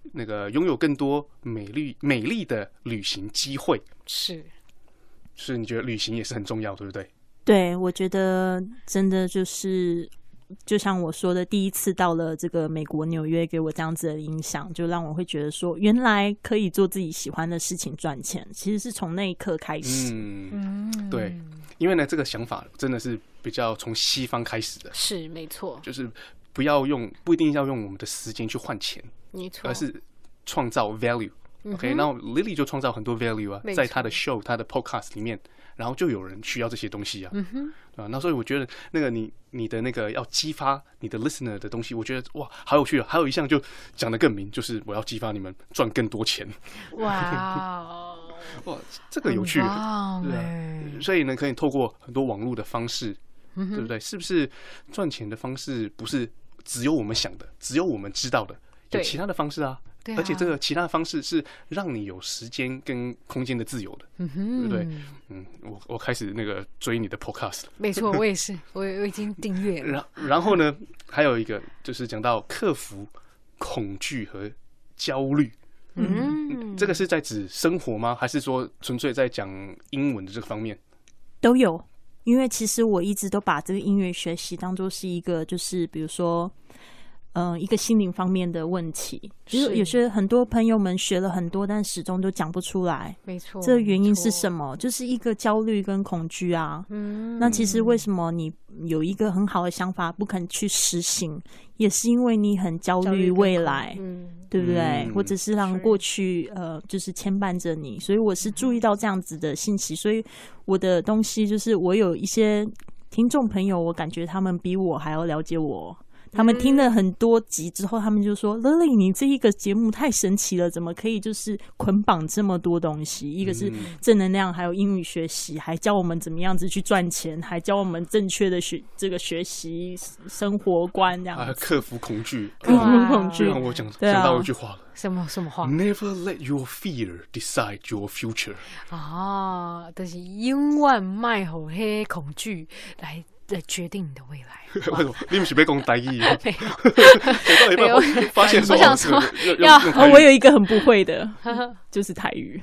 那個擁有更多美麗美麗的旅行機會。 是， 是你覺得旅行也是很重要，對不對？ 對，我覺得真的就是就像我說的，第一次到了這個美國紐約，給我這樣子的影響，就讓我會覺得說，原來可以做自己喜歡的事情賺錢，其實是從那一刻開始。 嗯，對，因為呢，這個想法真的是比較從西方開始的， 是沒錯， 就是不要用，不一定要用我們的時間去換錢， 沒錯， 而是創造 value。OK，、嗯、然後 Lily 就創造很多 value 啊，在她的 show、她的 podcast 裡面。然後就有人需要這些東西啊，嗯哼，對吧？那所以我覺得那個你你的那個要激發你的 listener 的東西，我覺得哇，好有趣啊！還有一項就講得更明，就是我要激發你們賺更多錢。哇，哇，這個有趣，對啊。所以呢，可以透過很多網絡的方式，嗯、對不對？是不是賺錢的方式不是只有我們想的，只有我們知道的？有其他的方式啊。啊、而且這個其他的方式是讓你有時間跟空間的自由的，嗯哼，對不對？嗯，我我開始那個追你的 podcast 了。 沒錯，我也是，我我已經訂閱了。 然然後呢，還有一個就是講到克服恐懼和焦慮。嗯，這個是在指生活嗎？還是說純粹在講英文的這個方面？ 都有，因為其實我一直都把這個音樂學習當作是一個，就是比如說。嗯、呃，一個心靈方面的問題，就是有些很多朋友們學了很多，但始終都講不出來。沒錯，這個原因是什麼？就是一個焦慮跟恐懼啊。嗯，那其實為什麼你有一個很好的想法不肯去實行，也是因為你很焦慮未來，嗯，對不對？嗯、或者是讓過去呃，就是牽絆着你。所以我是注意到這樣子的信息，所以我的東西就是我有一些聽眾朋友，我感覺他們比我還要了解我。他們聽了很多集之後，他們就說 Lily 你這一個節目太神奇了，怎麼可以就是捆綁這麼多東西？一個是正能量，還有英語學習，還教我們怎麼樣子去賺錢，還教我們正確的學這個學習生活觀這樣子，還克服恐懼， 克服恐懼。 讓我講講到一句話了， 什麼什麼話 ？Never let your fear decide your future。 啊，就是永遠賣好黑恐懼來。來決定你的未來。 為什麼？你不是被講台語？ 沒有，沒有。 發現說， 我想說，要哦，我有一個很不會的，就是台語。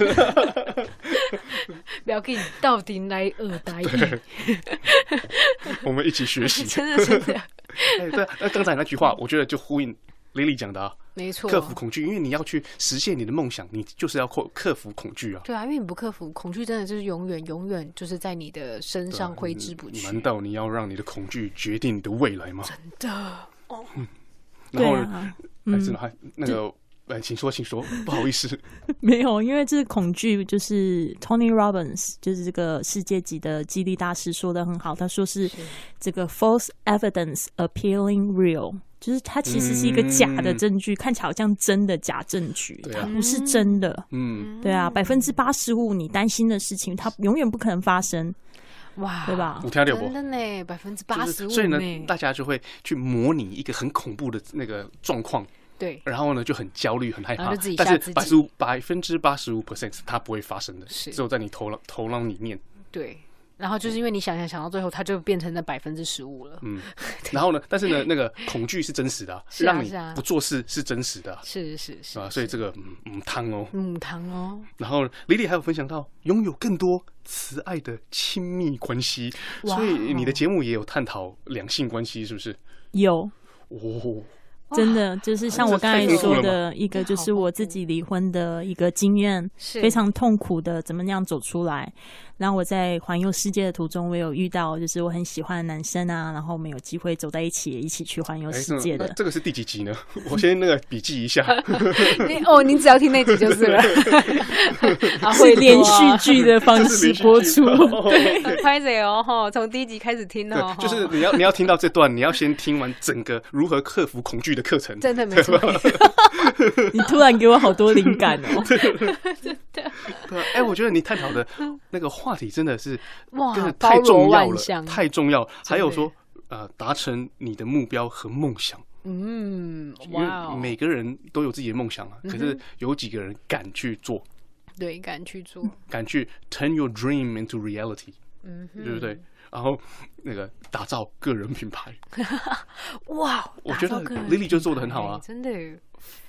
不要給你到底來學台語。 我們一起學習。 真的是這樣。 哎，對，那剛才那句話，我覺得就呼應Lily講的啊。沒錯，克服恐懼，因為你要去實現你的夢想，你就是要克克服恐懼啊。 對啊，因為你不克服恐懼，真的就是永遠永遠就是在你的身上揮之不去。 難道你要讓你的恐懼決定你的未來嗎？ 真的哦。 嗯、然後呢？還是還那個，哎，請說，請說，不好意思。 沒有，因為這個恐懼就是 Tony Robbins， 就是這個世界級的激勵大師說的很好，他說是這個 false evidence appearing real。就是它其實是一個假的證據，嗯、看起來好像真的假證據，它不是真的。嗯，對啊，百分之八十五你擔心的事情，它永遠不可能發生。哇，對吧？ 真的呢，百分之八十五。 所以呢，大家就會去模擬一個很恐怖的那個狀況。 對， 然後呢就很焦慮、很害怕。但是百十五百分之八十五 percent 是它不會發生的，只有在你頭腦頭腦裡面。 對。然後就是因為你想想想到最後，它就變成那百分之十五了。嗯， 然後呢？但是呢，那個恐懼是真實的、啊，是啊、讓你不做事是真實的、啊。 是是是啊，所以這個嗯湯哦， 嗯湯哦。 然後Lily還有分享到擁有更多慈愛的親密關係，所以你的節目也有探討兩性關係，是不是？ 有哦。 真的就是像我剛才說的一個，就是我自己離婚的一個經驗，非常痛苦的，怎麼樣走出來。然後我在環遊世界的途中，我有遇到就是我很喜歡的男生啊，然後我們有機會走在一起，一起去環遊世界的、欸。這個是第幾集呢？我先那個筆記一下。 哦，你只要聽那集就是了。 會連續劇的方式播出。 拍謝哦，哈，從第一集開始聽哦。 就是你要你要聽到這段，你要先聽完整個如何克服恐懼的課程。 真的沒錯。 你突然給我好多靈感哦。 真的。 對，哎，我覺得你探討的那個話題真的是哇，真的太重要了，太重要。還有說，呃，達成你的目標和夢想。嗯，哇，每個人都有自己的夢想啊，可是有幾個人敢去做？ 對，敢去做， 敢去 turn your dream into reality。嗯，對不對？然後那個打造個人品牌。哇，我覺得 Lily 就做得很好啊， 真的。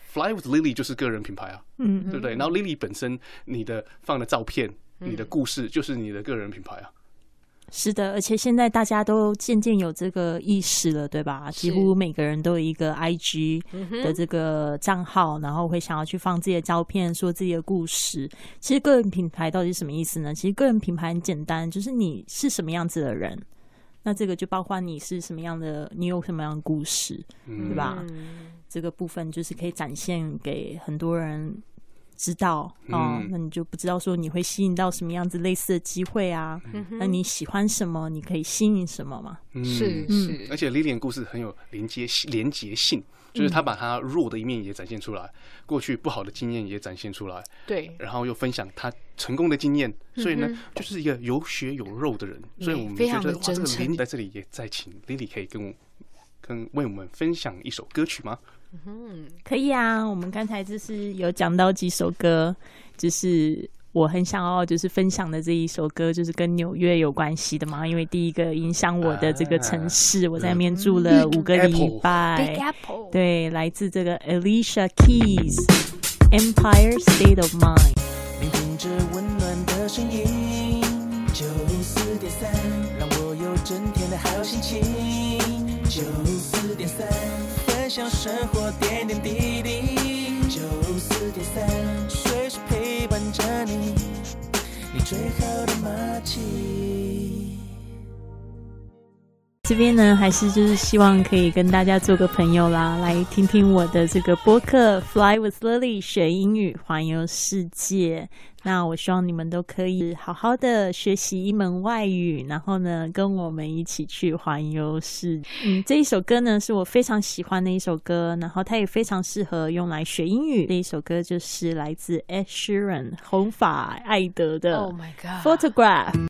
Fly with Lily 就是個人品牌啊， 嗯， 對不對？然後 Lily 本身你的放的照片、你的故事就是你的個人品牌啊。 是的，而且現在大家都漸漸有這個意識了，對吧？幾乎每個人都有一個 I G 的這個賬號，然後會想要去放自己的照片，說自己的故事。其實個人品牌到底是什麼意思呢？其實個人品牌很簡單，就是你是什麼樣子的人，那這個就包括你是什麼樣的，你有什麼樣的故事，對吧？嗯、這個部分就是可以展現給很多人知道哦，嗯、那你就不知道說你會吸引到什麼樣子類似的機會啊？嗯、那你喜歡什麼？你可以吸引什麼嘛？ 嗯、 是是， 嗯、 而且 Lily 的故事很有連接連結性，就是他把他弱的一面也展現出來，嗯、過去不好的經驗也展現出來， 對， 然後又分享他成功的經驗，嗯、所以呢，就是一個有血有肉的人，嗯、所以我們覺得哇，這個 Lily 在這裡也再請 Lily 可以跟我跟為我們分享一首歌曲嗎？ 嗯，可以啊。我們剛才就是有講到幾首歌，就是我很想要就是分享的這一首歌，就是跟紐約有關係的嘛。因為第一個影響我的這個城市，啊、我在那邊住了五個禮拜。Big Apple， 對，來自這個 Alicia Keys，Empire State of Mind。 聆聽着溫暖的聲音，九四點三，讓我有整天的好心情。九四點三。分享生活點點滴滴，九四點三，隨時陪伴着你，你最好的默契。 這邊呢，還是就是希望可以跟大家做個朋友啦，來聽聽我的這個播客 Fly with Lily 學英語環遊世界。那我希望你們都可以好好的學習一門外語，然後呢，跟我們一起去環遊世界。嗯，這一首歌呢是我非常喜歡的一首歌，然後它也非常適合用來學英語。這一首歌就是來自 Ed Sheeran 紅髮艾德的 Oh my God Photograph。